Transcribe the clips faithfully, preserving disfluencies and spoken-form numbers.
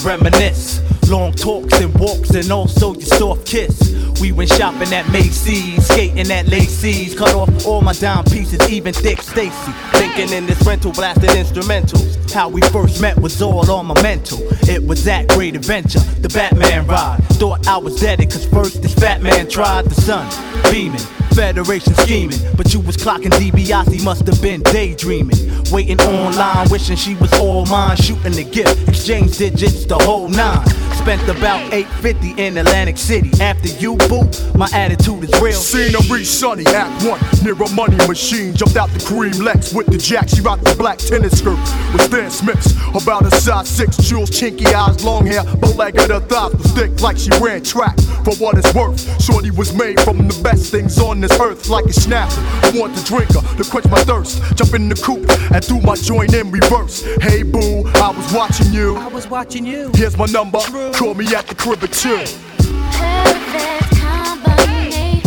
reminisce. Long talks and walks and also your soft kiss. We went shopping at Macy's, skating at Lacey's. Cut off all my dime pieces, even Dick Stacy. Thinking in this rental, blasted instrumentals. How we first met was all on my mental. It was that great adventure, the Batman ride. Thought I was dead, cause first this fat man tried. The sun beaming, Federation scheming, but you was clocking DiBiase, must have been daydreaming. Waiting online, wishing she was all mine. Shooting the gift, exchange digits, the whole nine. Spent about eight fifty in Atlantic City. After you, boo, my attitude is real. Scenery sunny, act one, near a money machine. Jumped out the cream Lex with the jack. She rocked the black tennis skirt with Stan Smiths. About a size six, jewels, chinky eyes, long hair, bow-legged, her thighs was thick like she ran track. For what it's worth, shorty was made from the best things on this earth, like a snapper. I want to drink her to quench my thirst. Jump in the coupe and threw my joint in reverse. Hey boo, I was watching you. I was watching you. Here's my number. Call me at the crib at two. Perfect combination.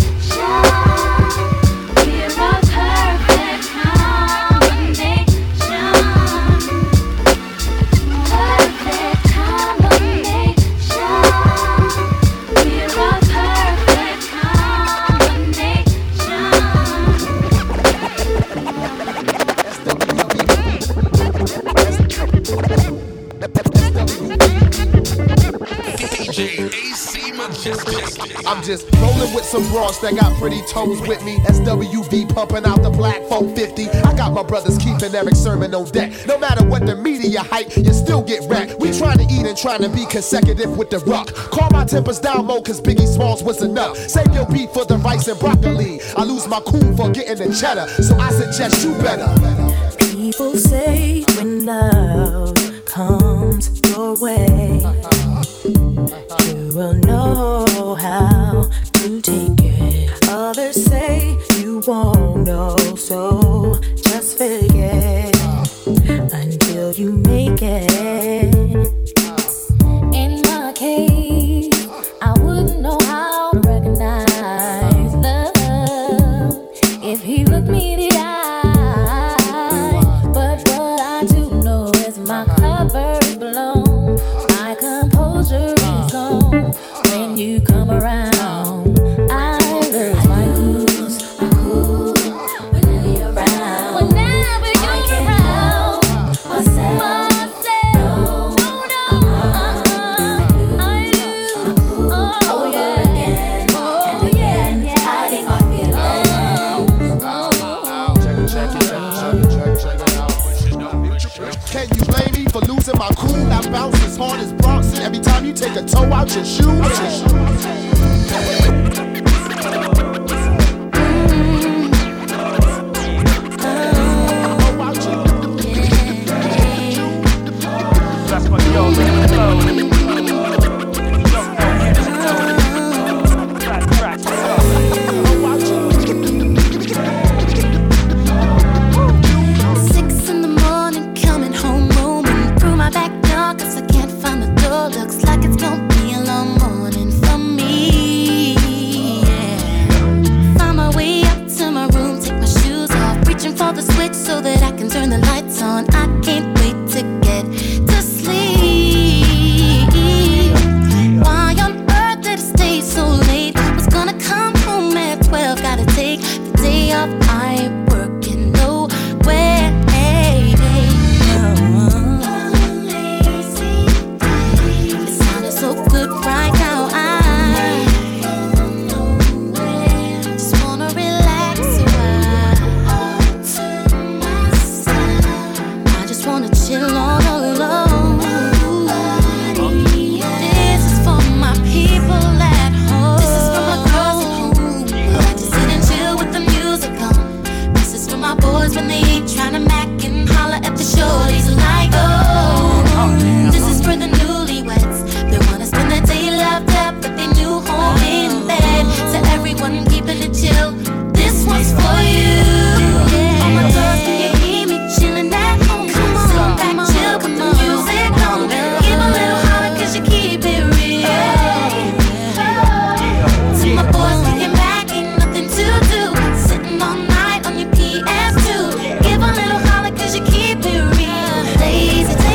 We're a perfect combination. Perfect combination. We're a perfect I'm just rolling with some bras that got pretty toes with me. S W V pumping out the black four fifty. I got my brothers keeping Eric Sermon on deck. No matter what the media hype, you still get wrecked. We trying to eat and trying to be consecutive with the rock. Call my tempers down low cause Biggie Smalls was enough. Save your beat for the rice and broccoli. I lose my cool for getting the cheddar, so I suggest you better. People say when love comes your way, you will know how to take it. Others say you won't know, so just forget until you make it. In my case, I wouldn't know how to recognize love if he looked me in the eye. But what I do know is my cover is blown, my composure is gone. When you come around, I lose my cool, my cool. Whenever you're around, whenever you're around, myself, myself, no, no, uh-uh, I lose, oh yeah, oh yeah, hiding my feelings. Check it, check it, check it, check it out. Can you blame me for losing my cool? I bounce as hard as Bronson every time you take a toe out your shoe. That's what yo, look at the flow. Six in the morning, coming home, roaming through my back door, cause I can't find the door. Looks like it's gonna be a long morning for me. Yeah. Find my way up to my room, take my shoes off, reaching for the switch so that I can turn the lights on. I can't wait to get to sleep. Why on earth did I stay so late? Was gonna come home at twelve, gotta take the day off. I ain't working nowhere. It sounded so good right now. I just wanna relax a while. I just wanna chill all alone. This is for my people at home. This is for my girls at home who like to sit and chill with the music on. This is for my boys when they ain't tryna mac and holler at the shorties like, oh. This is for the newlyweds. They wanna spend the day loved up with their new home in bed. To everyone keeping it chill, this one's for you. All my girls, can you hear me chilling at home? Come on, back chill, put the music on. Give a little holler cause you keep it real. To my boys kicking back, ain't nothing to do, sitting all night on your P S two. Give a little holler cause you keep it real. Lazy,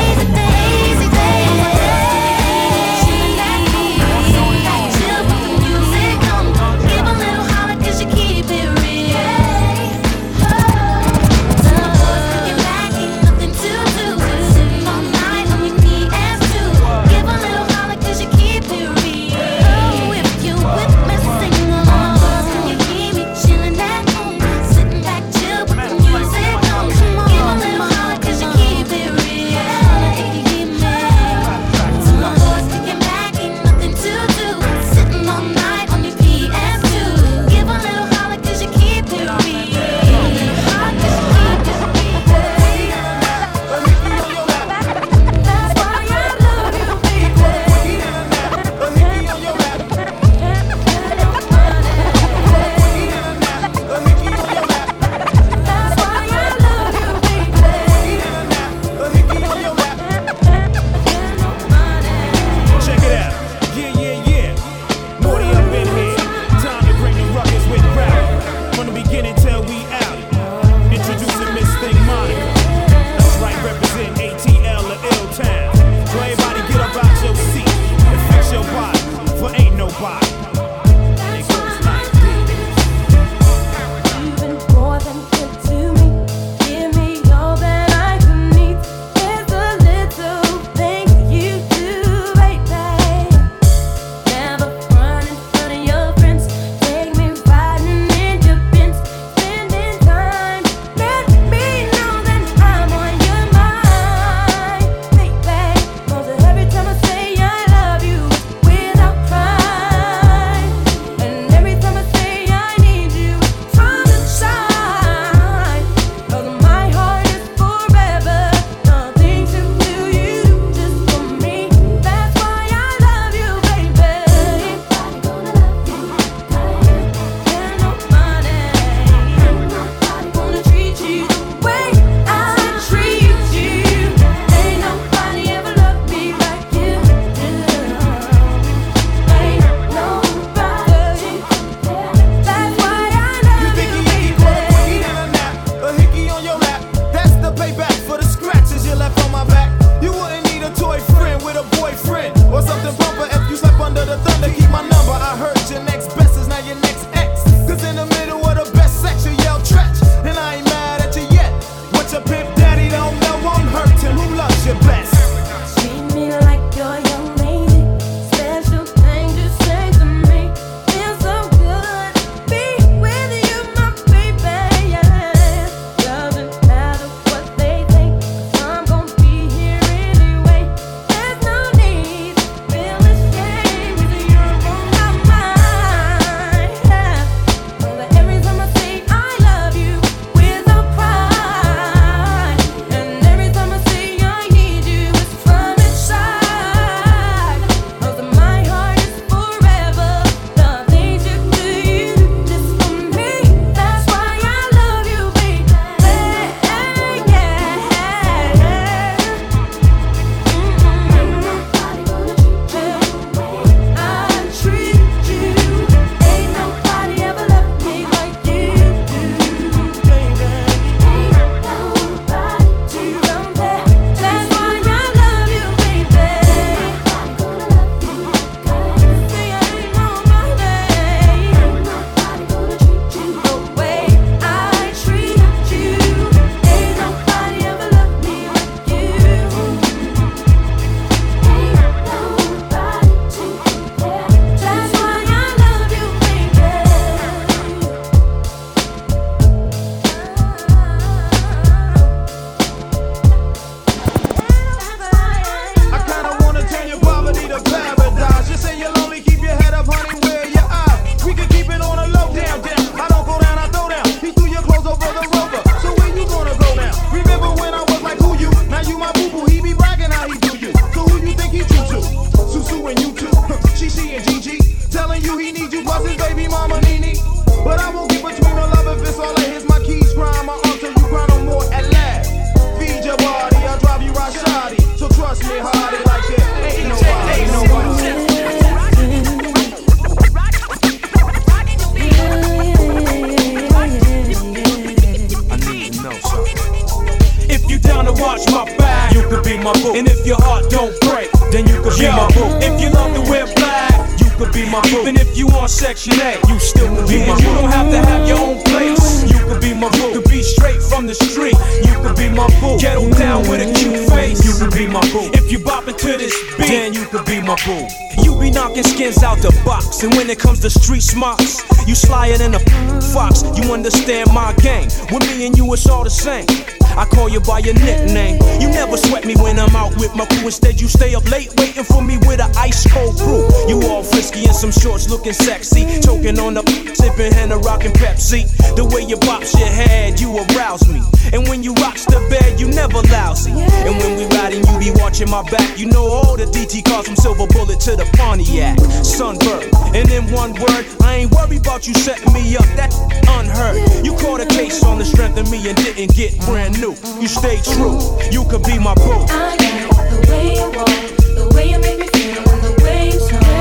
to watch my back, you could be my boo. And if your heart don't break, then you could Yo, be my boo. If you love to wear black, you could be my boo. Even if you on Section A, you still could be my boo. You don't have to have your own place, you could be my boo. You could be straight from the street, you could be my boo. Ghetto down with a cute face, you could be my boo. If you boppin' to this beat, then you could be my boo. You be knocking skins out the box, and when it comes to street smarts, you slyer than a fox. You understand my game, with me and you it's all the same. I call you by your nickname. You never sweat me when I'm out with my crew. Instead you stay up late waiting for me with an ice cold brew. You all frisky in some shorts looking sexy, choking on the sipping Henna rockin' Pepsi. The way you bops your head, you arouse me. And when you rocks the bed, you never lousy. And when we riding, you be watching my back. You know all the D T cars from Silver Bullet to the Pontiac, Sunbird. And in one word, I ain't worried about you setting me up. That's unheard. You caught a case on the strength of me and didn't get brand new. You stay true, you could be my boo. I like the way you walk, the way you make me feel, and the way you talk.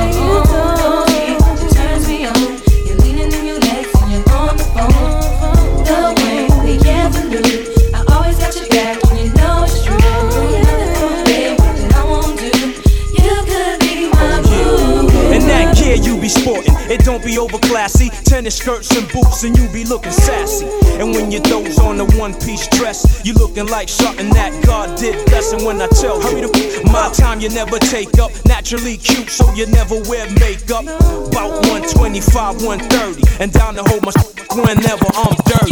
It turns me on. You're leaning in your legs and you're on the phone. The way we ever knew, I always got your back when you know it's true. Nothing from me that I won't do. You could be my boo. And that gear you be sporting, it don't be over classy. Tennis skirts and boots and you be looking sassy. And when you throws on a one-piece dress, you looking like something that God did bless. And when I tell you to my time you never take up, naturally cute so you never wear makeup. About one twenty-five, one thirty, and down to hold my whenever I'm dirty.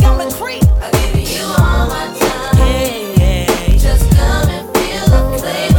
Just come and feel the flavor.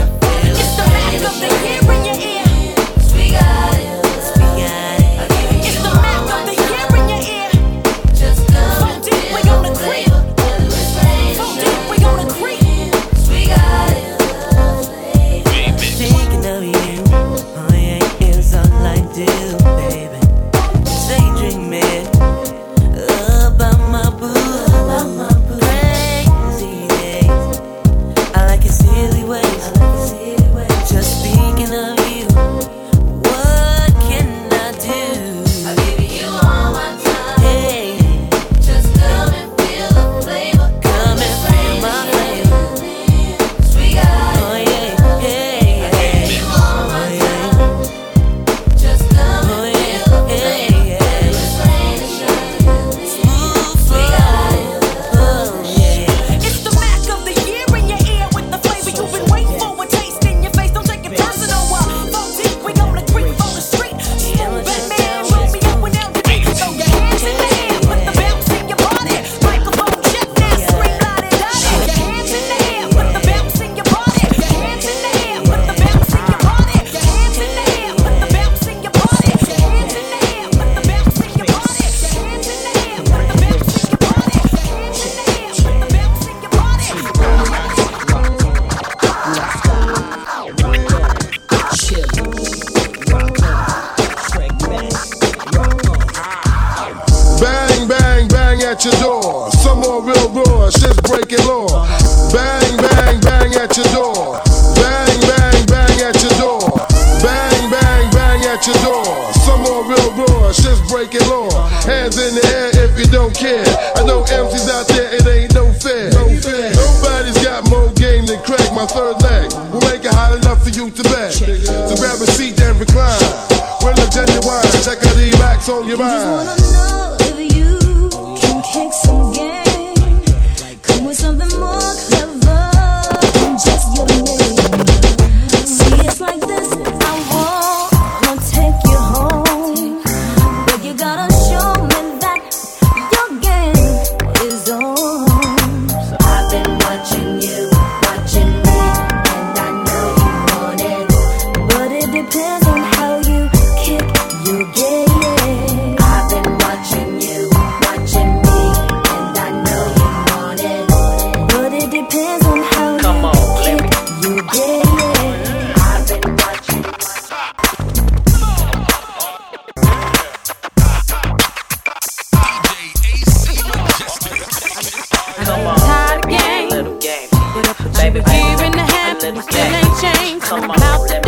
more real raw, shit's breaking law. Bang, bang, bang at your door. Bang, bang, bang at your door. Bang, bang, bang at your door. Some more real raw, shit's breaking law. Hands in the air if you don't care. I know M Cs out there, it ain't no fair. No fair. Nobody's got more game than Craig, my third leg. We'll make it hot enough for you to beg. So grab a seat and recline. We're the genuine, check out the racks on your mind. I just wanna know if you can kick some game. Come with something more clever than just your name. See, it's like this, I wanna take you home, but you gotta show me that your game is on. So I've been watching you, watching me, and I know you want it, but it depends on how you kick your game. I've been watching you, watching me, and I know you want it, but it depends on how Come you on, kick your game. I've been watching. Tired game, but I put you here in the hand, and still ain't changed. I'm out the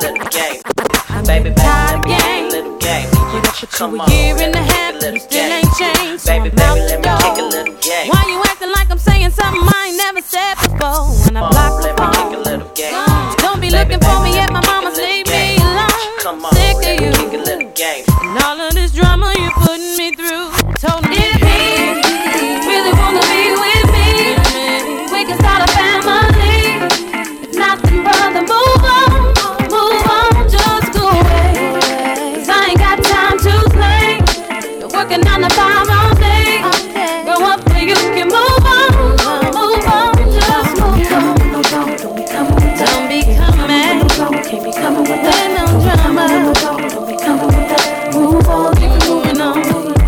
door. Baby, tired game, but I put you here in the hand, and still ain't changed. I'm out the door. Why you acting like I'm saying something I ain't never said before? When I block the phone, don't be looking for me at my mama's, leave me alone. Sick of you and all of this drama you're putting me through. Told me if he really wanna be with me, we can start a family. If nothing further, move on, move on, just go away. 'Cause I ain't got time to play. You're working on the five all day. Grow up where you can move on, move on, just move on. Don't be coming, don't be coming, can't be coming with that no drama. Don't be coming with that, move on, keep moving on.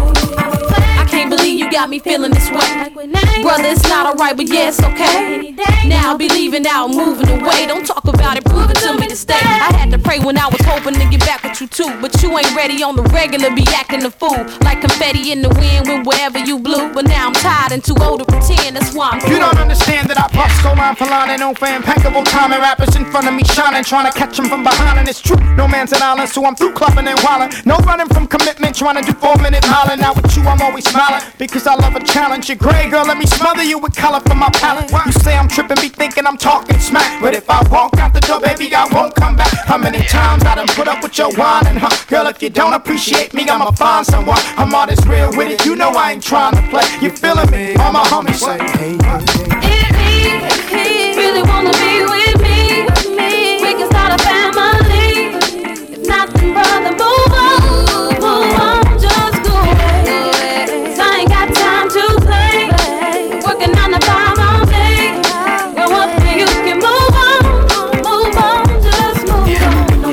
I can't believe you got me feeling this way. Brother, it's not alright, but yeah, it's okay. Now I'll be leaving out, moving away. Don't talk about it, prove it to me to stay. I had to pray when I was hoping to get back with you too, but you ain't ready on the regular, be acting a fool. Like confetti in the wind when wherever you blew. But now I'm tired and too old to pretend, that's why I'm through. You don't understand that I bust so line for line and no for impeccable timing. Rappers in front of me shining, trying to catch them from behind, and it's true. No man's an island, so I'm through clubbing and wildin'. No running from commitment, trying to do four minute miling. Now with you, I'm always smiling because I love a challenge. You're gray, girl, let me smother you with color from my palette. You say I'm tripping, be thinking I'm talking smack, but if I walk out the door, baby, I won't come back. How many times I done put up with your whining, huh? Girl, if you don't appreciate me, I'ma find someone. I'm all this real with it, you know I ain't trying to play. You feeling me? All my homies say, hey, If he, if he really wanna be with me, we can start a family. If nothing further, move on, move on, just go away. 'Cause I ain't got time to play. Working on the five all day. Grow up where you can move on, move on, just move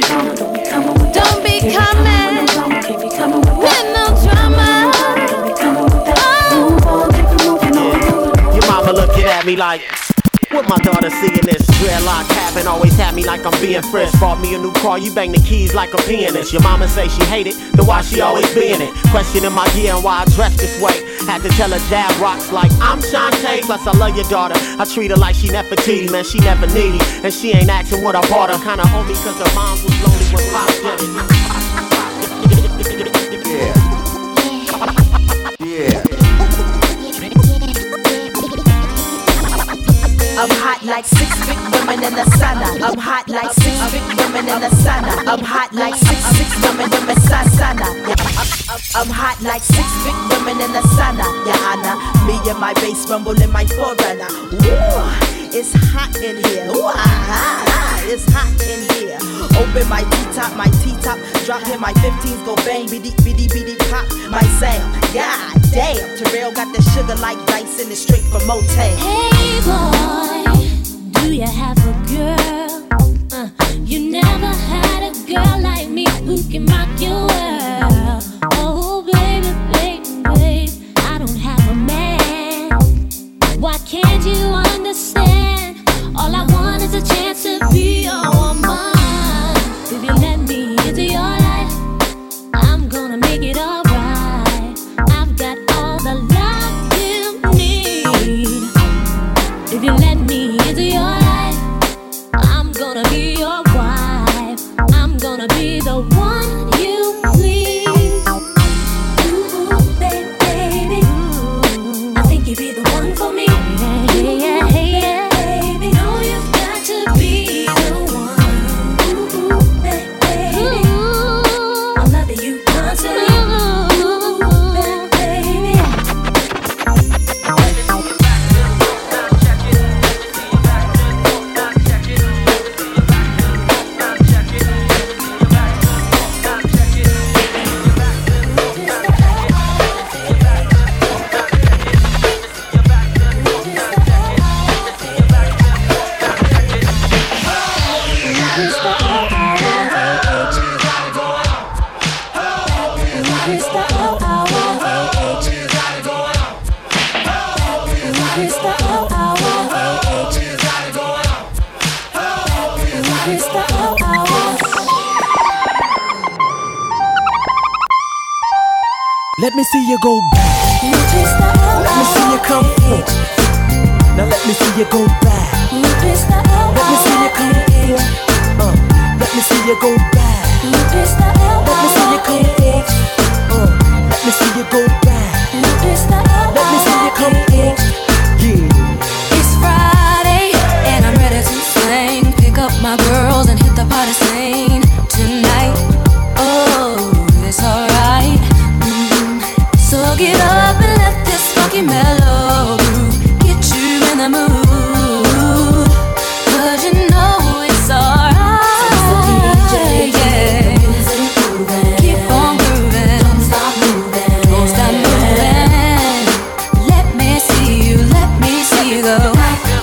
on. Don't be coming, with no drama. Your mama looking at me like, what my daughter seeing this dreadlock having always had me like I'm being fresh. Bought me a new car, you bang the keys like a pianist. Your mama say she hate it, then why she always be in it? Questioning my gear and why I dress this way. Had to tell her dad rocks like I'm Shantae. Plus I love your daughter, I treat her like she Nefertiti. Man, she never needy, and she ain't asking what I bought her. Kinda owe me cause her mom was lonely when Pop did it. Yeah. Yeah. I'm hot like six big women in the sauna. I'm hot like six big women in the sauna. I'm hot like six six women in the sauna. I'm hot like six big women in the sauna. Yeah, Anna, me and my bass rumble in my forerunner. Ooh, it's hot in here. Ooh, ah, ah, it's hot in here. Open my T-top, my T-top. Drop in my fifteens, go bang, biddy, biddy, biddy, pop. My sound, god damn. Terrell got the sugar like dice and it's straight from Motown. Hey boy, do you have a girl? Uh, you never had a girl like me who can rock your world. Oh baby, baby, baby, I don't have a man. Why can't you understand? All I want is a chance to be your woman. If you let me into your life, I'm gonna make it alright. I've got all the love you need. It's the L hour. It's the L hour. Let me see you go back. Let me see you come forth. Now let me see you go back. Let me see you come forth. Uh, let me see you go back. Let me see you come forth. Uh, let me see you go back. Let me see you come forth. Yeah. It's Friday and I'm ready to sing. Pick up my girls and hit the party scene tonight. Oh, it's alright. Mm. So get up and let this funky mellow groove get you in the mood. Cause you know it's alright. Yeah. Keep on grooving. Don't stop moving. Don't stop moving. Let me see you, let me see you go.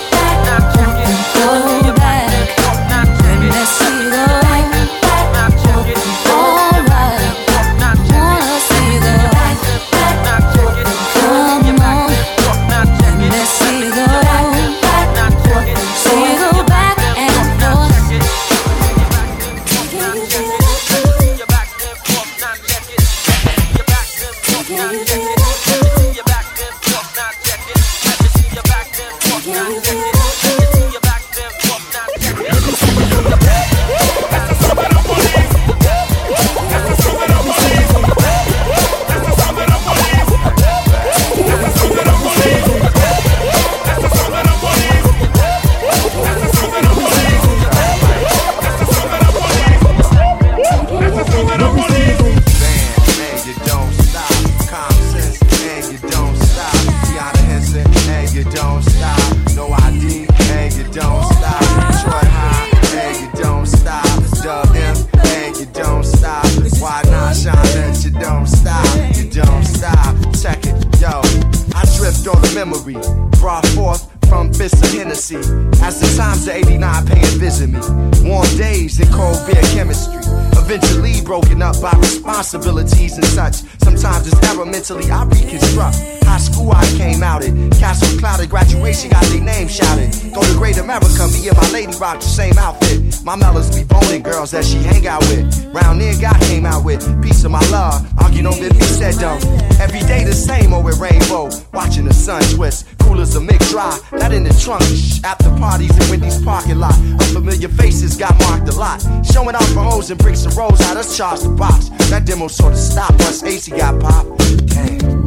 Responsibilities and such. Sometimes it's error mentally I reconstruct. High school I came out at. Castle clouded, graduation got their name shouted. Go to Great America, me and my lady rock the same outfit. My melons be boning girls that she hang out with. Round there, God came out with piece of my love. Argue no bit, he said don't. Every day the same, oh with rainbow. Watching the sun twist, cool as a mix dry. That in the trunk, shh, after parties in Wendy's parking lot. Unfamiliar faces got marked a lot. Showing out for hoes and bricks and rolls, how us charge the box. That demo sort of stopped once A C got popped. Damn.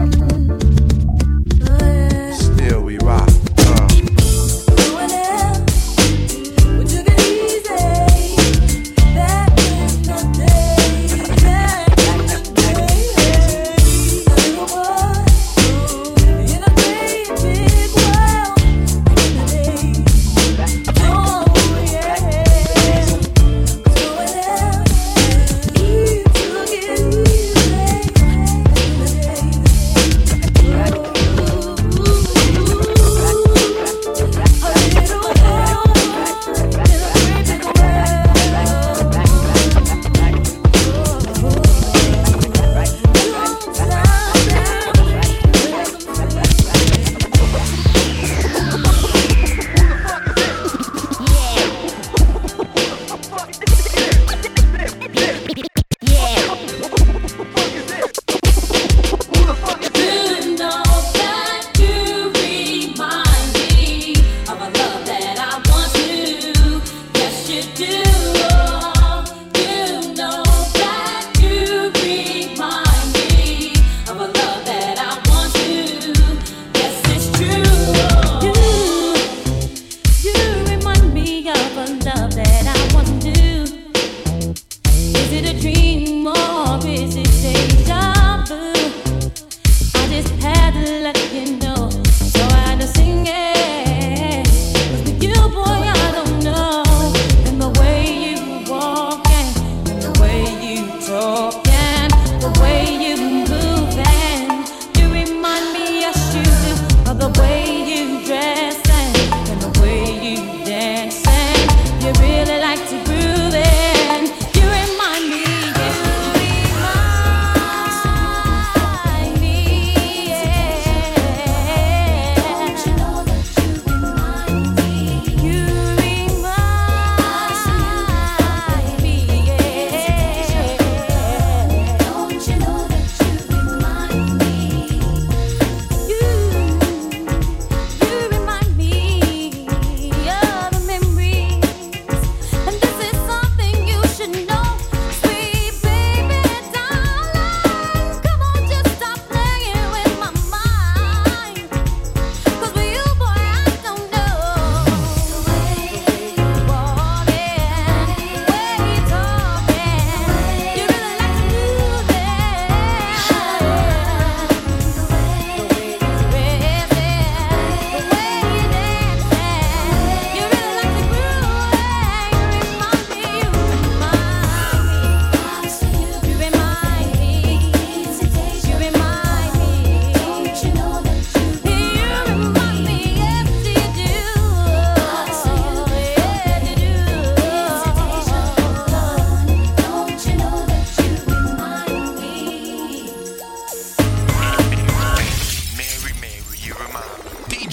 Still we rock. Uh. You took it easy.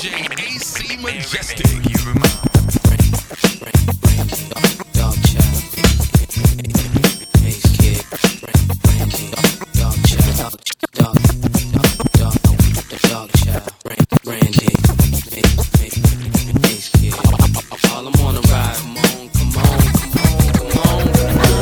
J A C Majestic. Dog child. Ace Kid. Dog child. Dog, dog, dog, dog child. Randy. Ace Kid. All I'm on a ride. Come on, come on, come on, come on.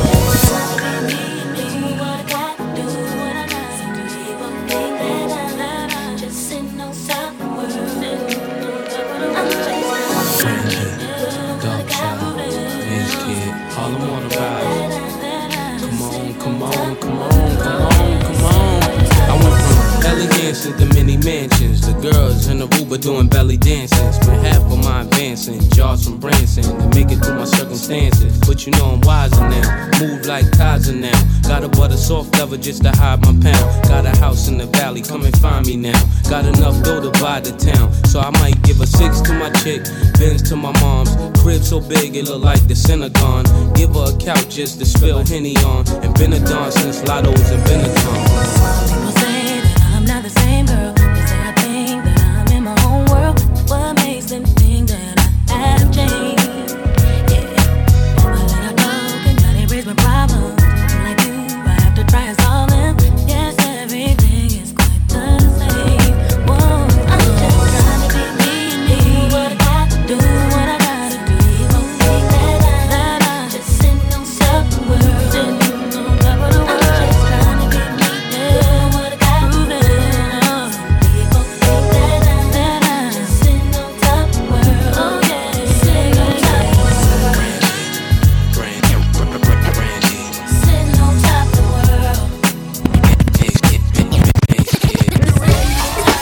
All I'm on a ride. Come on, come on, come on, come on, come on. I went from elegance to many mansions. The girls in the Uber doing belly dances. Spent half of my advancing, jars from Branson to make it through my circumstances. But you know I'm wiser now, move like Kaiser now. Got a butter soft leather just to hide my pound. Got a house in the valley, come and find me now. Got enough dough to buy the town, so I might give a six to my chick, Benz to my mom's. Crib so big it look like the Synagogue. Give her a couch just to spill Henny on. And been a dawn since Lotto's and Benetton. People say that I'm not the same girl. They say I think that I'm in my own world. What makes them think that I have changed? Yeah, but when I broke, now they raise my problems. I'm like you, I have to try and solve them. Yes, everything is quite the same. Whoa, I'm just trying to be me and me. What I got to do, what I gotta do. People think that I'm just sitting on top of the world. Sitting on top of the world. I'm just trying to be me. Yeah, what I got to prove it. People think that I'm, that I'm just sitting on top of the world. Oh yeah, sitting on top of the world. Brandy, Brandy, Sitting on top of the world. Ace Kid, Ace Kid.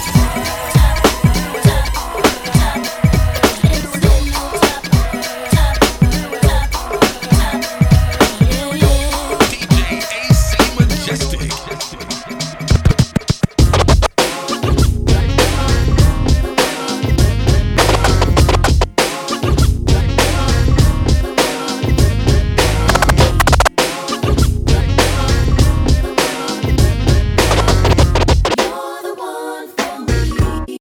D J A C Majestic. You're the one for me.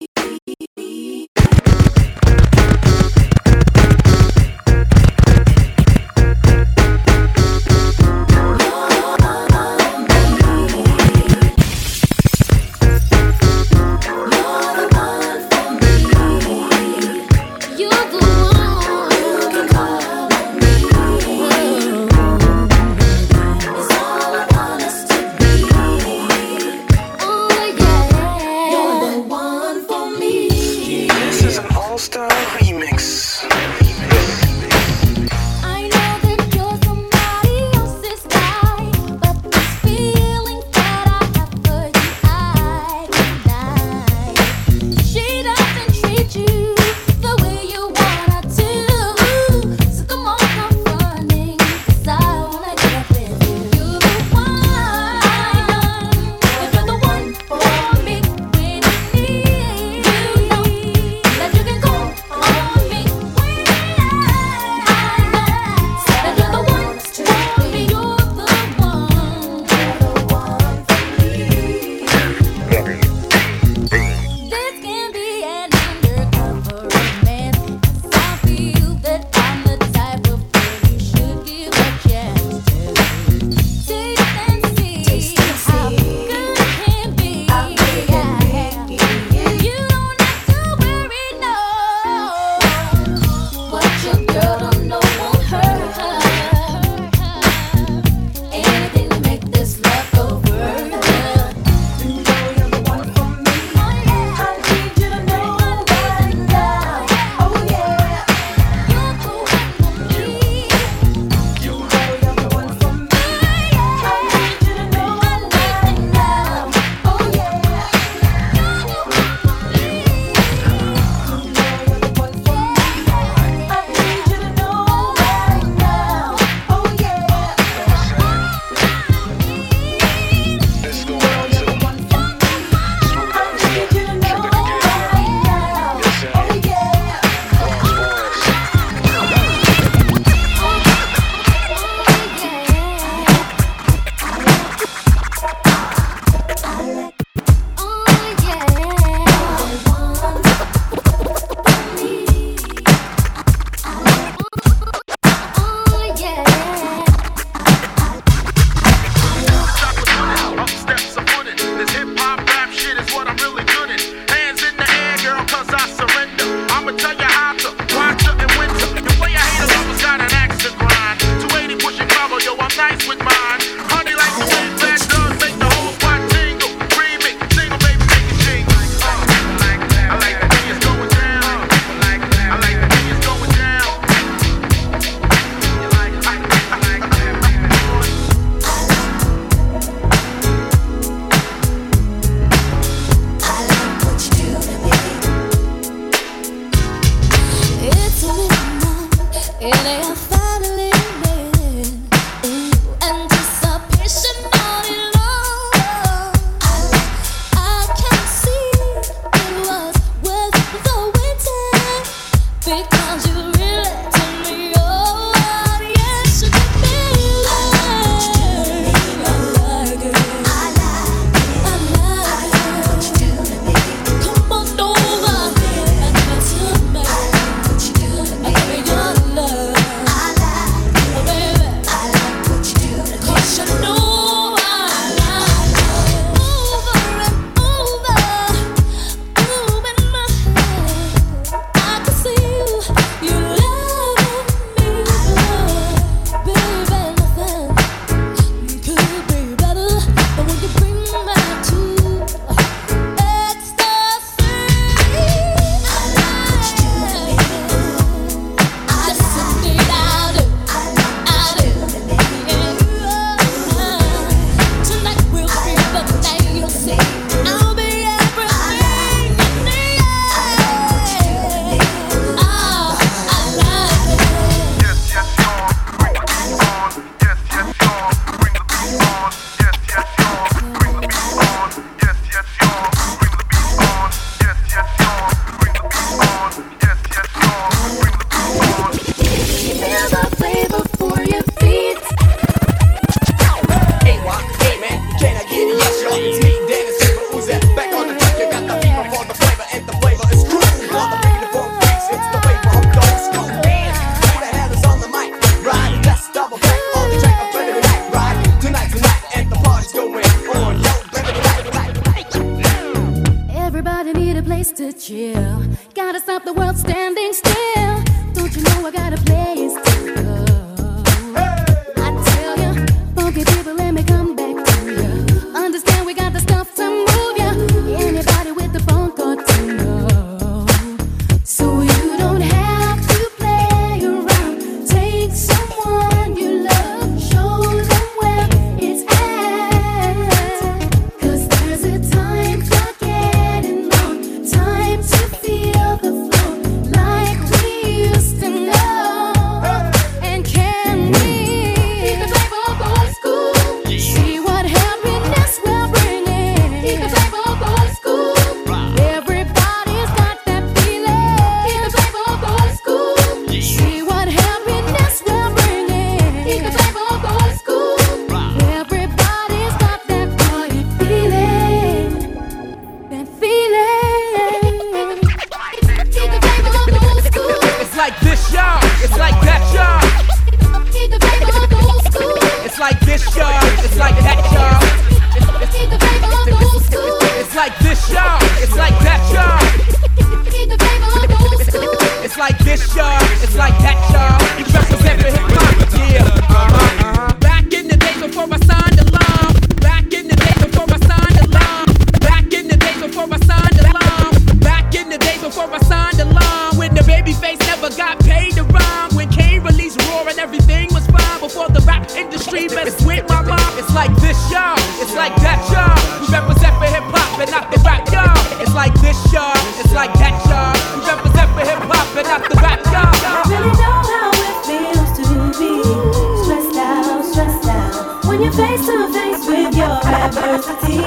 You're the one you can call on me. It's all I want us to be. Oh yeah, you're the one for me. This is an all-star remix. I know that you're somebody else's guy, but this feeling that I have for you, I deny. She doesn't treat you the way you wanna to. So come on, come running, 'cause I wanna get with you. You're the one. I know that you're the one for me when you need. You know that you can call on because you really turn me on. Yes, you give me love. I like it. I like it. I like it. What you do to me. Come on over and give it to me. I like what you do to me. I give you your love. I like it. Oh, baby. I like what you do to me. 'Cause you know I like it. Over and over. Ooh, in my head. I can see you. You love me, baby. Nothing could be better than when you bring me to ecstasy. I like what you do to me. Yes, indeed I do. I do. Yeah. Tonight will be the day you'll see. I'll be everything you need. Ah, I like it. Yes, yes, y'all. Bring the beat on. Yes, yes, y'all. Bring the beat on. Yes, yes, y'all. Bring the beat on. Yes, yes, y'all. Bring the beat on. Yes, yes, y'all. Bring the beat on. Yes, yes, y'all. Bring the beat on. Feel the flavor for your feet. Hey, what? Hey, man, can I get a yes, y'all? It's me, Dennis Super Uzi. Back on the track, you got the fever for the flavor, and the flavor is true. For the beat for freaks, it's the flavor of the old school. Man, who the hell is on the mic? Right, let's double back on the track of Flavor Tonight, right? Tonight, tonight, and the party's going on. Yo, Flavor Tonight, tonight. Everybody need a place to chill. Gotta stop the world standing still. Don't you know I got a place to go? I tell you, funky people, let me come back to you. Understand we got the stuff to move ya. Anybody with the phone got to know. So you don't have to play around. Take someone you love, show them where it's at. 'Cause there's a time for getting on, time to feel the flow like we used to know. And can we keep the flavor of old school? See what happiness we're bringing. Keep the flavor of old school. Everybody's got that feeling. Keep the flavor of old school. See what happiness we're bringing. Keep the flavor of old school. Everybody's got that party feeling. That feeling. Keep the flavor of old school. It's like this, y'all. It's like that, y'all. Keep the flavor of old school. It's like this, y'all. It's like that, y'all. Keep the flavor of old school. It's like this, y'all. It's like that, y'all. Keep the flavor of old school. It's like this, y'all. It's like that, y'all. You represent for hip hop, yeah. Uh-huh, uh-huh. Back in the days before I signed the law. Back in the days before I signed the law. Back in the days before I signed the law. Back in the days before I signed the law. When the baby face never got paid to rhyme. When Kane released Roar and everything was fine. Before the rap industry messed with my mom. It's like this, y'all. It's like that, y'all. We represent for hip hop and not the rap, y'all. It's like this, y'all. It's like that, y'all. We represent for hip hop and not the rap, y'all. I really know how it feels to be stressed out, stressed out when you're face to face with your adversity.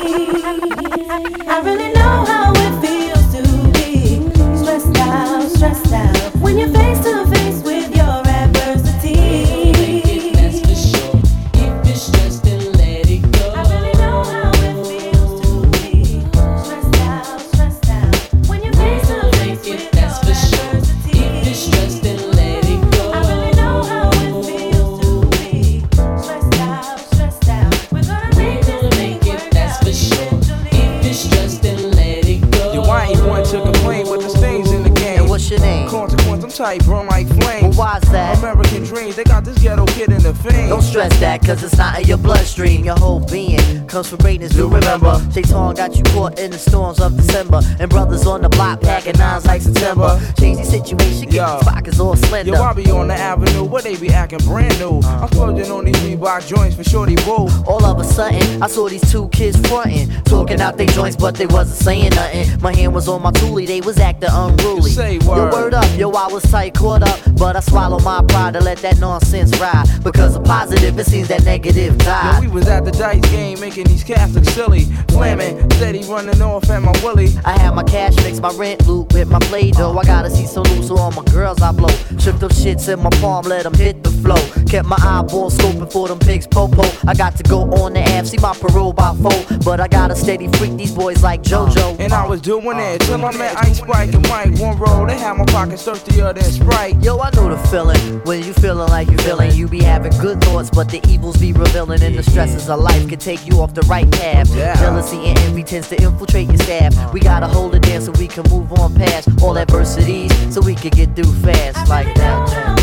I really know how it feels to be stressed out, stressed out when you're face to face with your adversity. That's for sure. If it's stressed, then let it go. I really know how it feels to be stressed out, stressed out when you're face to face with your That's for sure. adversity. If it's stressed, then let it go. I really know how it feels to be stressed out, stressed out. We're gonna make this thing Make it, work that's out for sure. eventually. If it's stressed, then let it go. Yo, I ain't one to complain, but there's things in the game. And what's your name? Consequence, I'm tight, burn like Well, flames. why's that? American dreams, they got this ghetto kid in the fame. Don't stress that, cause it's not in your bloodstream. Your whole being comes from greatness, do remember. Shaitan got you caught in the storms of December. And brothers on the block packing nines like September. Change the situation, get these pockets all slender. Yo, I be on the avenue, where they be acting brand new. I'm splurging on these Reebok joints for shorty boo. All of a sudden, I saw these two kids frontin', talking out their joints, but they wasn't saying nothing. My hand was on my toolie, they was acting unruly. Say Yo, word. word up, yo, I was was tight, caught up, but I swallow my pride to let that nonsense ride. Because of positive, it seems that negative died. Yo, we was at the dice game making these cats look silly. Flamin', steady running off at my willy. I had my cash mix, my rent loot with my play dough. I gotta see some loose, so all my girls I blow. Shook them shits in my palm, let them hit the flow. Kept my eyeballs scoping for them pigs, po-po. I got to go on the app, see my parole by four. But I got a steady freak these boys like JoJo. And I was doing it till I met Ice Spike and Mike. One roll, they had my pockets thirstier than Sprite. Yo, I know the feeling when you feeling like you feeling. You be having good thoughts, but the evils be revealing. And the stresses of life can take you off the right path. Yeah. Jealousy and envy tends to infiltrate your staff. We gotta hold it down so we can move on past all adversities, so we can get through fast like that.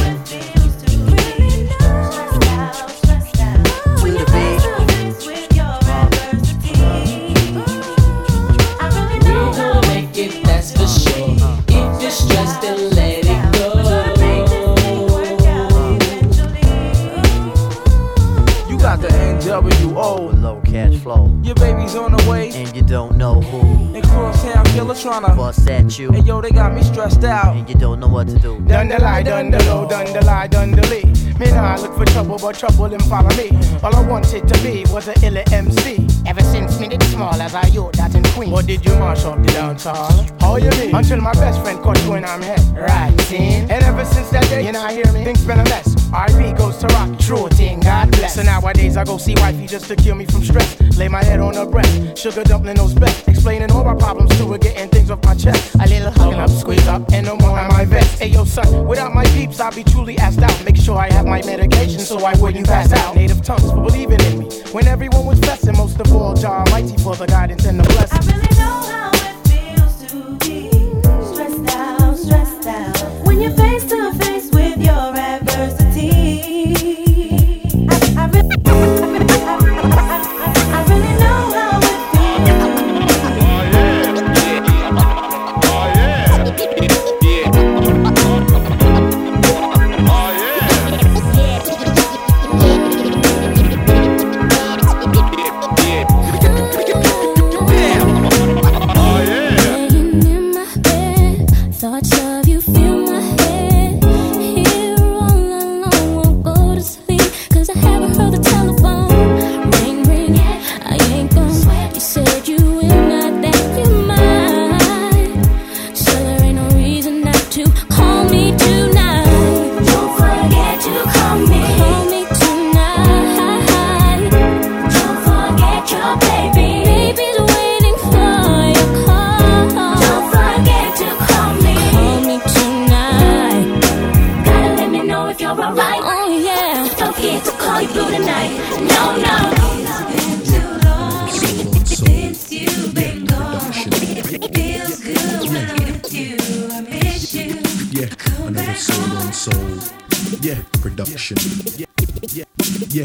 To the beat. We're gonna make it, that's for sure. If you're stressed, then let it go. You got the N W O, low cash flow. Your baby's on the way, and you don't know who. And Crosstown Killer tryna bust at you. And yo, they got me stressed out, and you don't know what to do. Done the lie, done the low, done the lie, done the lee. Me nah look for trouble, but trouble him follow me. All I wanted to be was a illa M C. Ever since me did small as I yo that in Queen. What did you mash up the dance hall? How you mean? Until my best friend caught you in I'm head. Right, see? And ever since that day, you know hear me? Things been a mess. R I P goes to rock, true thing, God bless. So nowadays I go see wifey just to cure me from stress. Lay my head on her breast, sugar dumpling those best. Explaining all my problems to her, getting things off my chest. A little hugging up, squeeze up, and no more on my vest. Hey yo son, without my peeps I'll be truly asked out. Make sure I have my medication so I wouldn't pass out. Native tongues for believing in me when everyone was blessing. Most of all, Jah Almighty for the guidance and the blessing. I really know how it feels to be stressed out, stressed out. When you're face to face with your adversity. I, I, really, I, really, I, really, I really know how it feels. Oh yeah, yeah, Thoughts of you fill my head. Here all alone, won't go to sleep, cause I haven't heard the telephone ring, ring. I ain't gon' sweat. You said you will not, that you might. So there ain't no reason not to call me tonight. Don't forget to call me. Call me tonight. Don't forget your baby. Baby's waiting for your call. Don't forget to call me. Call me tonight. Gotta let me know if you're alright. Oh yeah. Don't forget to call you blue tonight. No, no. It's been too long since you've been gone. Feels good when I'm with you. I miss you. Yeah, another soul on soul. Yeah, production. Yeah, yeah, yeah,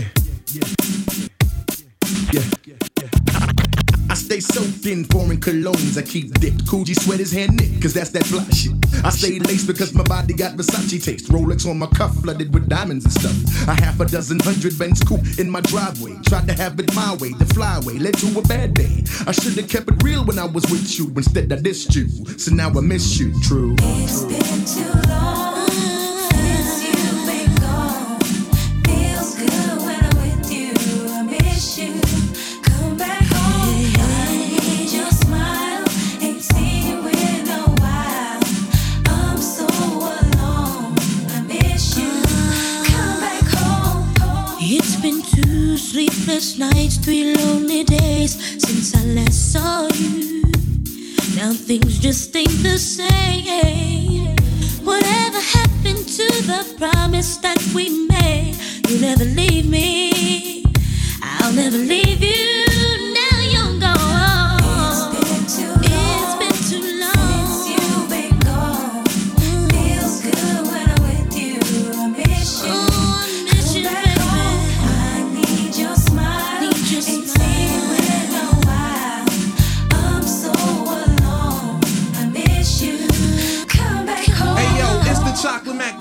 yeah, yeah. I stay soaked in foreign colognes. I keep dipped. Coogee sweaters hand knit, cause that's that fly shit. I stay laced because my body got Versace taste. Rolex on my cuff, flooded with diamonds and stuff. A half a dozen hundred Benz coupe in my driveway. Tried to have it my way, the flyway led to a bad day. I should've kept it real when I was with you. Instead I dissed you, so now I miss you, true. It's been too long since you've been gone. Feels good when I'm with you. I miss you. Come back home. I need your smile. Ain't seen you in a while. I'm so alone. I miss you. Come back home. It's been two sleepless nights, three lonely days since I last saw you. Now things just ain't the same. Whatever happened to the promise that we made? You'll never leave me. I'll never leave you. Now you're gone. It's been too long. It's been too long since you've been gone. Feels good when I'm with you. I miss you. Oh, I miss you, baby. I need your smile. Need your Ain't smile. seen you in a while. I'm so alone. I miss you. Come back home. Hey yo, it's the Chocolate Mac, the Slim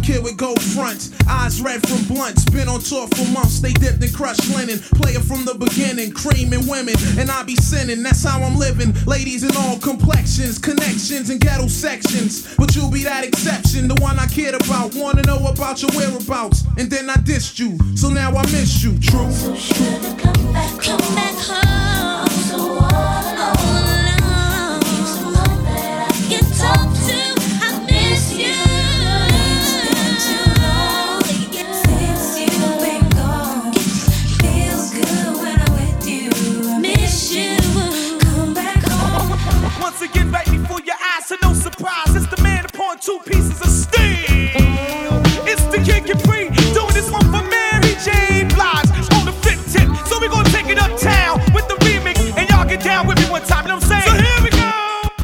kid with gold fronts, eyes red from blunts. Been on tour for months, they dipped in crushed linen. Player from the beginning, creaming women, and I be sinning. That's how I'm living. Ladies in all complexions, connections and ghetto sections. But you'll be that exception, the one I cared about. Wanna know about your whereabouts, and then I dissed you. So now I miss you, true. So should've come back, come back home. I'm so all alone. All alone. Need someone that I can talk to. I miss you. It's been too long since you've been gone. It feels good when I'm with you. I miss you. Come back home. Once again, right before your eyes, so no surprise. It's the man upon two pieces of steel. It's the Kid Capri, doing this one for Mary J. Blige on the fifth tip. So we gonna take it uptown with the remix, and y'all get down with me one time. You know what I'm saying? So here we go.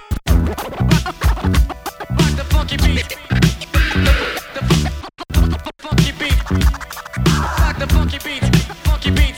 Rock the funky beat. The funky beat. Rock the funky beat. Funky beat.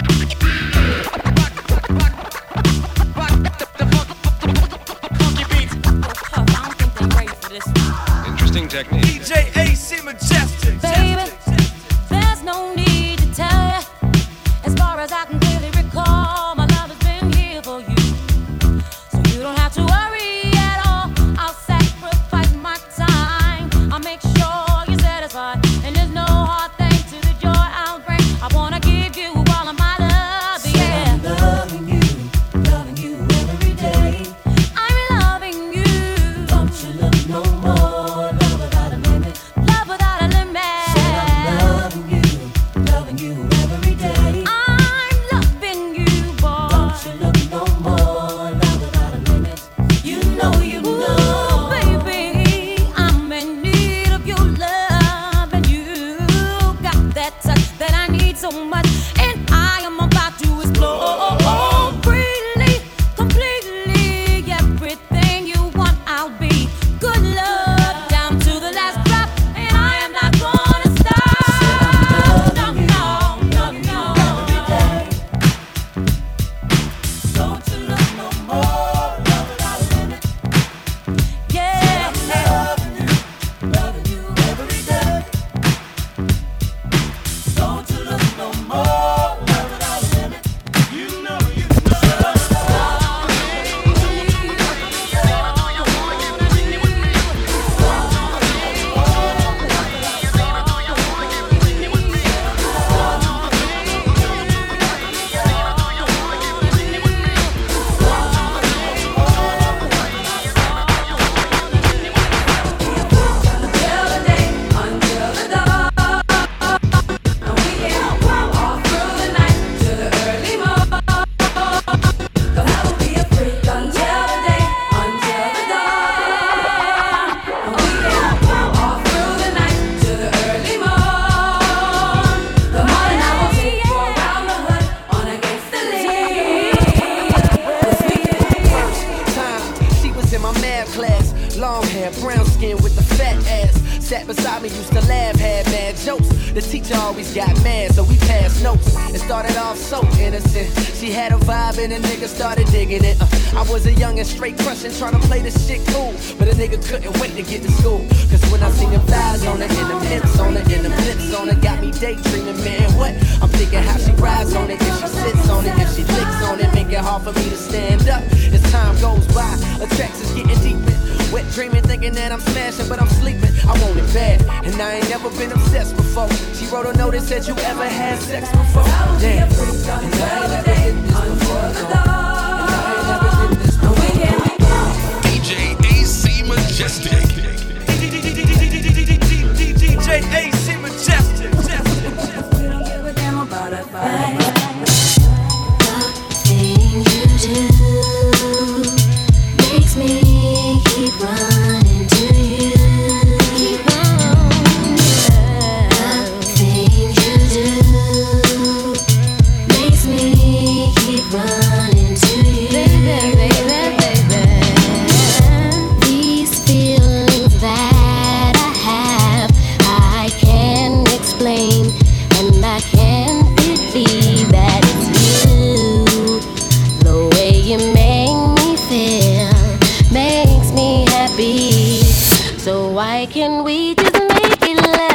Interesting technique. D J A C Majestic. Baby, there's no need to tell you. As far as I can clearly recall, my love has been here for you. So you don't have to worry at all. I'll sacrifice my time. I'll make sure you're satisfied. And there's no hard thing to the joy I'll bring. I wanna give you all of my love, yeah. I'm loving you, loving you every day. I'm loving you. Don't you look no more. Love without a limit. Love without a limit. Said I'm loving you, loving you every day. I'm loving you, boy. Don't you look no more. Love without a limit. You know, you know. Ooh, baby, I'm in need of your love, and you got that touch that I need so much, and I am about to explore freely, completely. Everything you want, I'll be. Good love down to the last drop, and I am not gonna stop. No, no, no, no. Every day. Don't you look no more. Love without a limit. Yeah. Loving you, loving you every day. Don't you look no more. Love without a limit. You know, you She was in my math class, long hair, brown skin with the fat ass. Sat beside me, used to laugh, had mad jokes. The teacher always got mad, so we passed notes. It started off so innocent. She had a vibe and a nigga started digging it. Uh, I was a young and straight crushing, trying to play this shit cool. But a nigga couldn't wait to get to school. Cause when I seen them thighs on it, and them hips on it, and them lips on it, got me daydreaming, man, what? I'm thinking how she rides on it, if she sits on it, if she licks on it, make it hard for me to stand up. As time goes by, the tracks is getting deeper. Wet dreaming, thinking that I'm smashing, but I'm sleeping. I want it bad, and I ain't never been obsessed before. She wrote a note that said you ever had sex before. Damn, and I ain't never did this before. No. And I ain't never did this before. D J A C Majestic. D J A C Majestic. We don't give a damn about a fight. The thing you do makes me keep running to you. Keep on, yeah. The thing you do makes me keep running to you. Baby, baby, baby. These feelings that I have, I can't explain, and I can't believe that it's you. The way you make me feel makes me happy. So why can't we just make it last?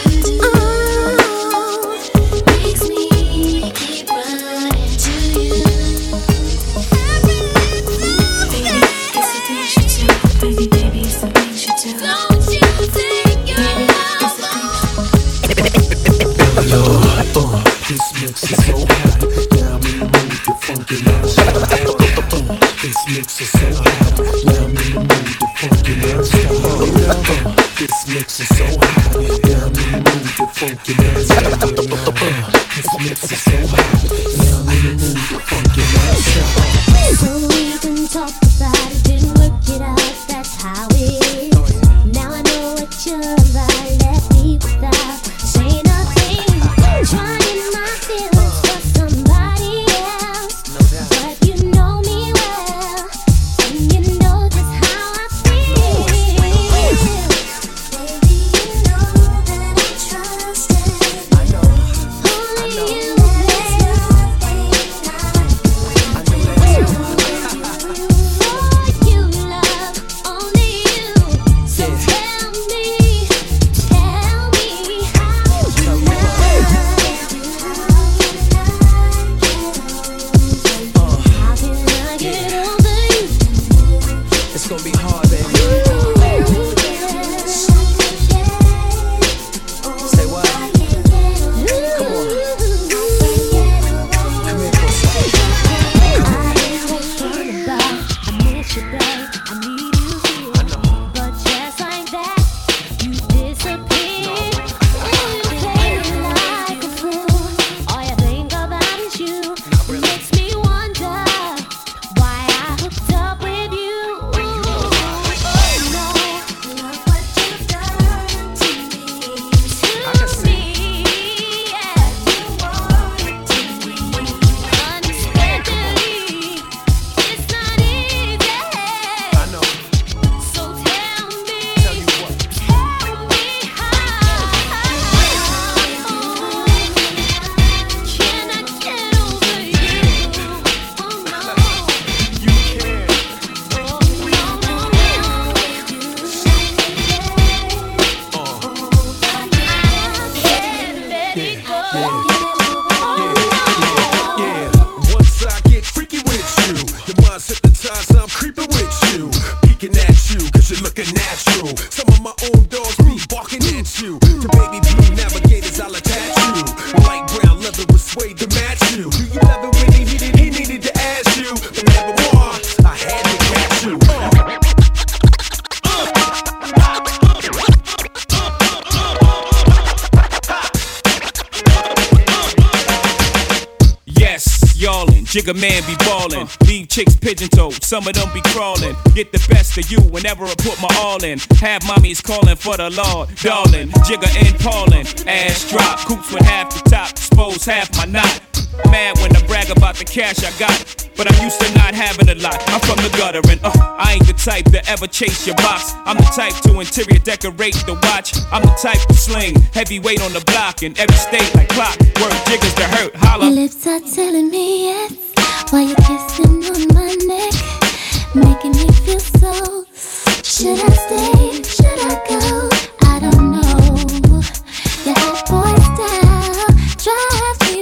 Jigga man be ballin', leave chicks pigeon-toed, some of them be crawlin'. Get the best of you whenever I put my all in. Have mommies callin' for the Lord, darling. Jigga and Paulin', ass drop, coops with half the top, expose half my knot. Mad when I brag about the cash I got, but I'm used to not having a lot. I'm from the gutter and uh, I ain't the type to ever chase your box. I'm the type to interior decorate the watch. I'm the type to sling heavyweight on the block in every state like clock. Word jiggers to hurt, holla. Your lips are telling me yes, while you're kissing on my neck, making me feel so. Should I stay? Should I go? I don't know. Your hot boy style drives me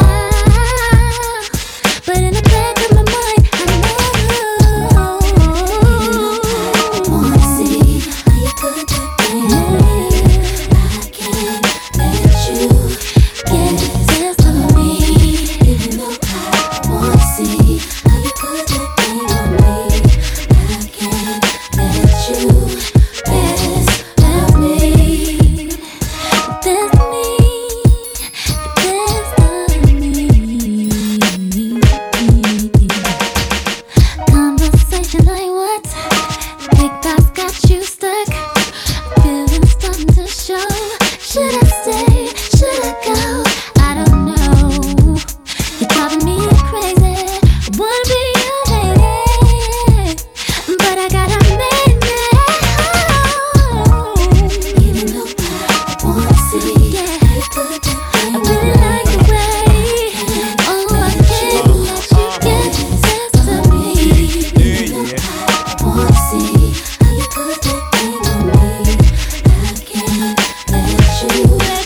wild, but in the back of my mind, I know. Wanna see how you put that thing on me? I can't let you get the best of me. Even though I wanna see how you put that thing on me, I can't let you best of me. Best of me, best of me. Conversation like what? Big boss got you stuck. Feelings starting to show. Should I stay? Should I go? I don't know. You're driving me crazy. I wanna be your lady, but I gotta make it. Even though I wanna see, yeah, I really like the way. Oh, I can't let you get the best of me. Even though I wanna see how you put that thing on me, I can't let you.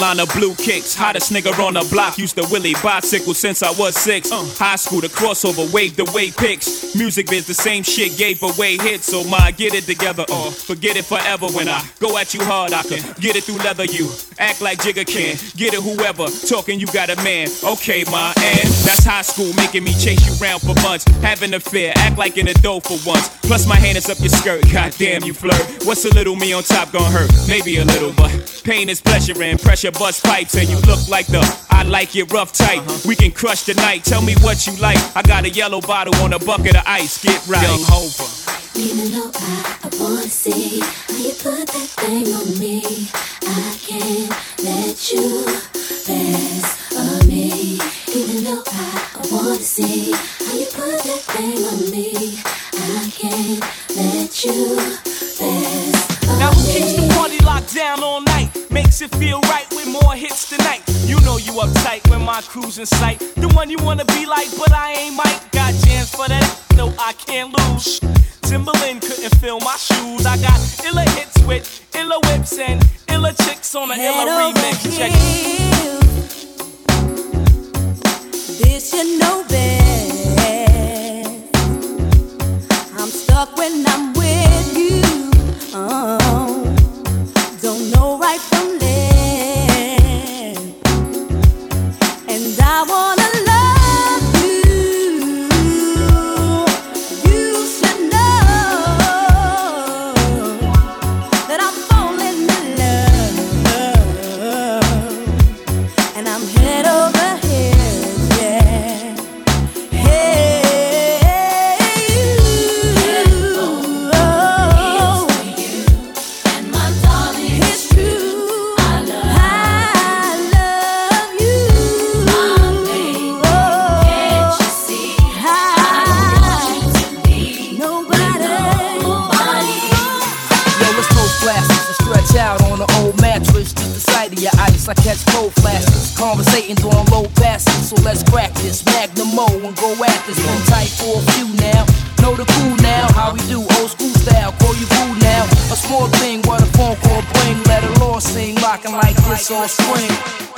line of blue kicks. Hottest nigga on the block. Used to Willie bicycle since I was six. Uh, high school, the crossover, waved away pics. Music biz, the same shit, gave away hits. So my get it together or forget it forever. When I go at you hard, I can get it through leather. You act like Jigga can. Get it whoever. Talking you got a man. Okay, my and that's high school, making me chase you round for months. Having a fear, act like an adult for once. Plus my hand is up your skirt. Goddamn, you flirt. What's a little me on top gonna hurt? Maybe a little, but pain is pleasure and pressure bust pipes. And you look like the I like it rough tight. We can crush the night. Tell me what you like. I got a yellow bottle on a bucket of ice. Get right. Young Hova. Even though I, I wanna see how you put that thing on me, I can't let you pass on me. Even though I, I wanna see how you put that thing on me, I can't let you pass on now who me. keeps the party locked down all night? Makes it feel right with more hits tonight. You know you uptight when my crew's in sight. The one you wanna be like, but I ain't Mike. Got jams for that, no I can't lose. Timberland couldn't fill my shoes. I got illa hits with illa whips and illa chicks on a illa remix. Check it. This you know best. I'm stuck when I'm with you. Oh, don't know right from left, and I wanna. I catch cold flashes, conversating on low passes. So let's crack this Magnum Mo and go at this. Been tight for a few now, know the cool now. How we do old school style, call you boo now. A small thing, what a phone call bring. Let a law sing, rockin' like this all spring.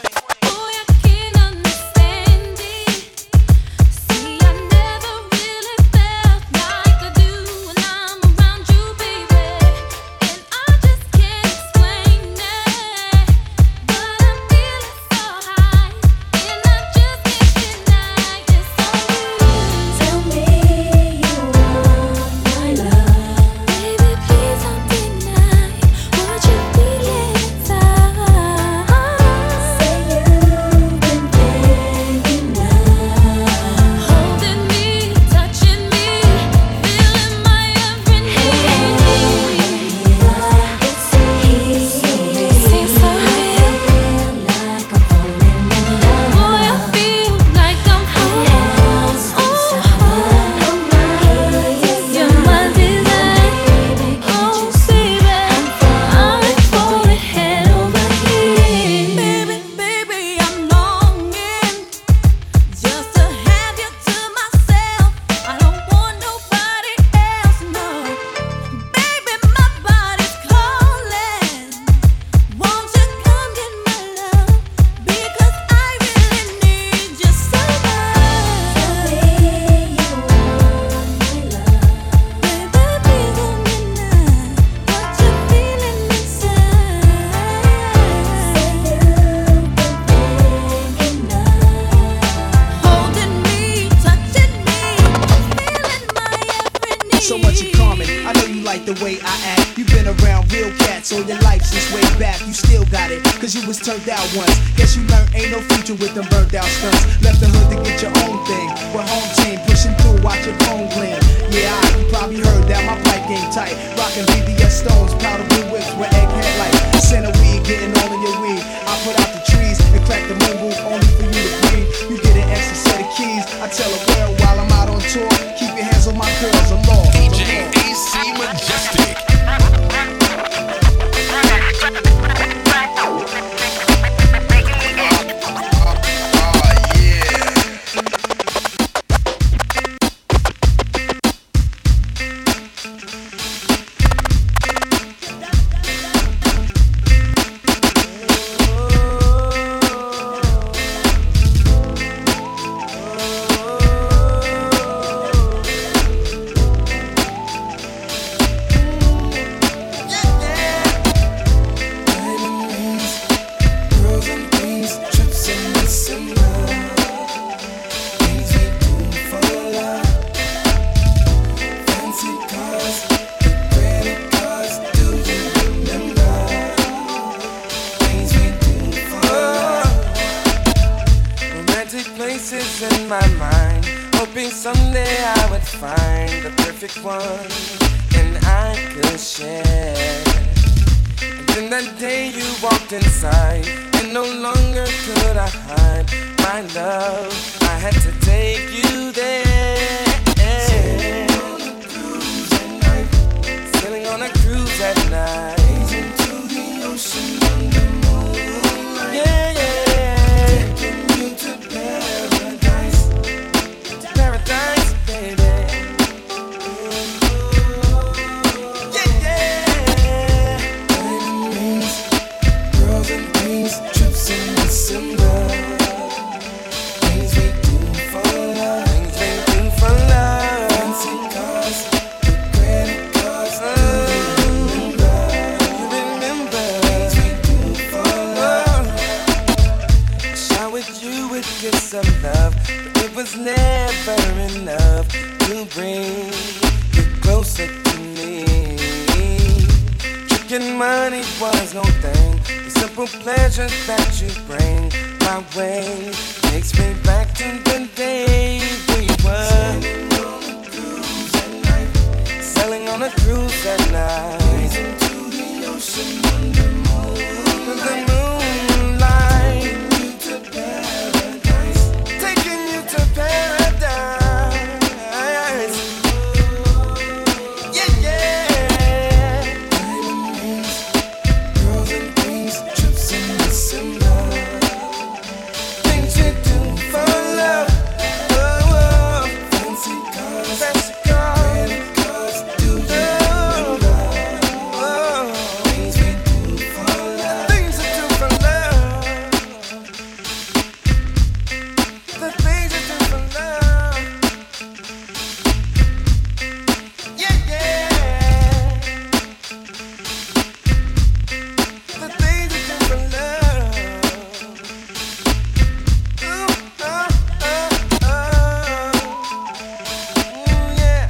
Turned out once. Guess you learned ain't no future with them burned out stunts. Left the hood to get your own thing. With home team pushing through, watch your phone gleam. Yeah, I, you probably heard that my pipe game tight. Rockin' B B S stones, powder blue whips with egghead lights. Center weed, getting all in your weed. I put out the trees and crack the moon roof only for you to breathe. You get an extra set of keys. I tell a girl while I'm out on tour, keep your hands on my girls, I'm lost. D J A C Majestic. faces in my mind, hoping someday I would find the perfect one and I could share. And then that day you walked inside, and no longer could I hide my love. I had to take you there. Sailing on a cruise at night, sailing on a cruise at night, into the ocean under moonlight. Yeah, yeah. Taking you to paradise, to paradise, baby. Yeah, yeah. Diamond rings, girls and things, trips in December. Things we do for love, things we do for love. Fancy cars, with credit cards. Oh, you remember, things we do for love. Shower with you with gifts of love, but it was never enough to bring you closer to me. Tricking money was no thing. The simple pleasures that you bring my way takes me back to the day we were sailing on a cruise at night, gazing to the ocean under the moonlight, taking you to paradise, taking you to paradise. Yeah, yeah. Diamond rings, girls and things, trips in December. Things you do for love. Oh, oh. Fancy cars, fancy cars, credit cards. Do you remember? Oh, things we do for love. Things we do for love. The things we do for love. Yeah, yeah. The things we do for love. Ooh, oh, oh, oh. Ooh, yeah.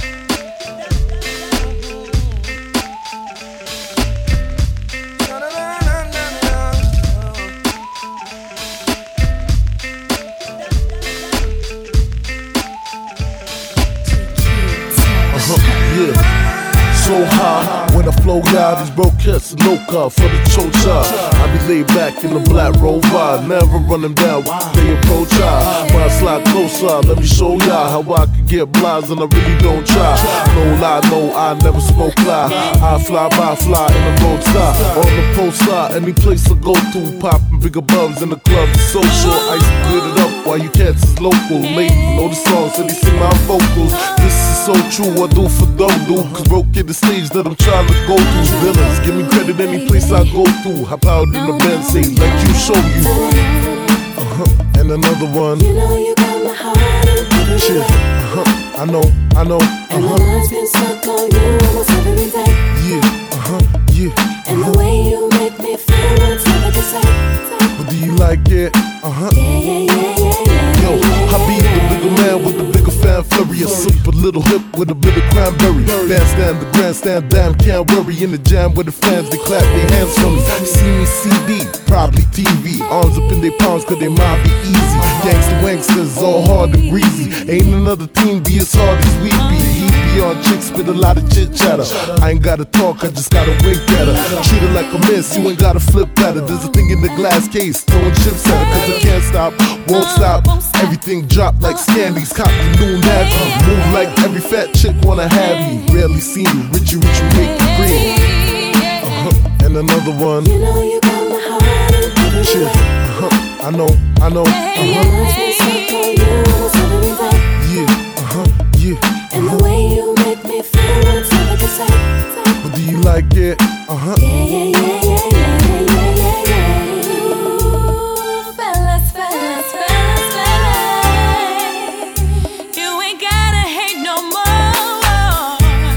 Na, na, na, na, na, na. Uh-huh, yeah. So high when I flow out, these broke cats are no car for the chocha. I be laid back in the black rover, never run them down when they approach I. When I slide closer, let me show y'all how I can get blinds and I really don't try. No lie, no, I never smoke lie. I fly by, fly in the roadside, on the poster, any place I go to, popping bigger bums in the club. It's so short, I used to get it up while you cats is local. Ladies know the songs, so they sing my vocals. This is so true, I do for dumb dude, cause broke in the stage that I'm trying to go through. Villains, give me credit any place I go through. Hop out in the Benz, say like you show you. Uh-huh, and another one. You know you got my heart in every Shit, uh-huh, I know, I know, and my uh-huh. mind's been stuck on you almost every day. Yeah, uh-huh, yeah, And the uh-huh. way you make me feel, what's never to say. But do you like it? Uh-huh. Yeah, yeah, yeah, yeah, yeah. Yo, I be the bigger man with the bigger fanfare. A super little hip with a bit of cranberry. Bandstand, the grandstand, damn, can't worry. In the jam with the fans, they clap their hands for me. See me C D, probably T V. Arms up in their palms, cause they might be easy. Gangsta wanksters, all hard and greasy. Ain't another team be as hard as we be. He be on chicks with a lot of chit chatter. I ain't gotta talk, I just gotta wink at her. Treat her like a miss, you ain't gotta flip at her. There's a thing in the glass case, throwing chips at her. Cause I can't stop, won't stop. Everything drop like Scandies, cop the new navy. Move like every fat chick wanna have me. Rarely see me, Richie Richie make you green. Uh-huh, and another one. You know you got my heart in every Shit, uh-huh, I know, I know, and my uh-huh. mind's been stuck on you almost every day. Yeah, uh-huh, yeah, And the uh-huh. way you make me feel, what's never to say. But do you like it? Uh-huh. Yeah, yeah, yeah, yeah, yeah, yeah, yeah, yeah. Ooh, fellas, fellas, fellas, fellas. You ain't gotta hate no more.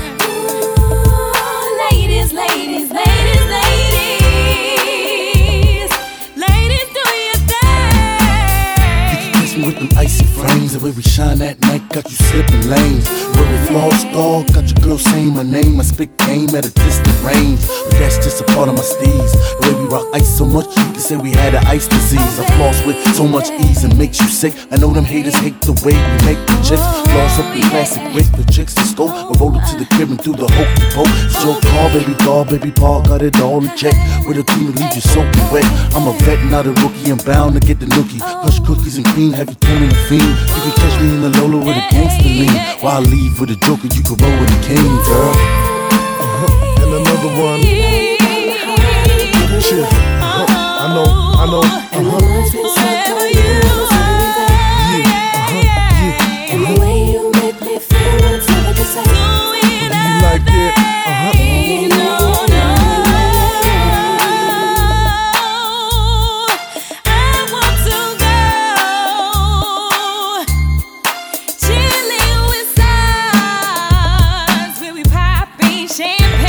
Ooh, Ladies, ladies, ladies, ladies. Ladies, do your thing. Kiss me with them icy frames. The way we shine that night got you slipping lanes. Where we floss dog, got your girl saying my name. I spit game at a distant range, but that's just a part of my steez. The way we rock ice so much, you can say we had an ice disease. I floss with so much ease and makes you sick. I know them haters hate the way we make the chicks floss up in classic wait for chicks to scope. I roll up to the crib and do the hokey poke. It's your car, baby doll, baby Paul, got it all in check. With a team to leave you soaking wet. I'm a vet, not a rookie, I'm bound to get the nookie. Hush cookies and cream, have you turning the fiend. You can catch me in the Lola with a gangster lean. While I leave with a joker, you can roll with a king, girl. Uh-huh. And another one. Shit. Uh-huh. I know, I know. Uh-huh. Like it, uh-huh. No, no, I want to go chilling with stars, where we popping champagne.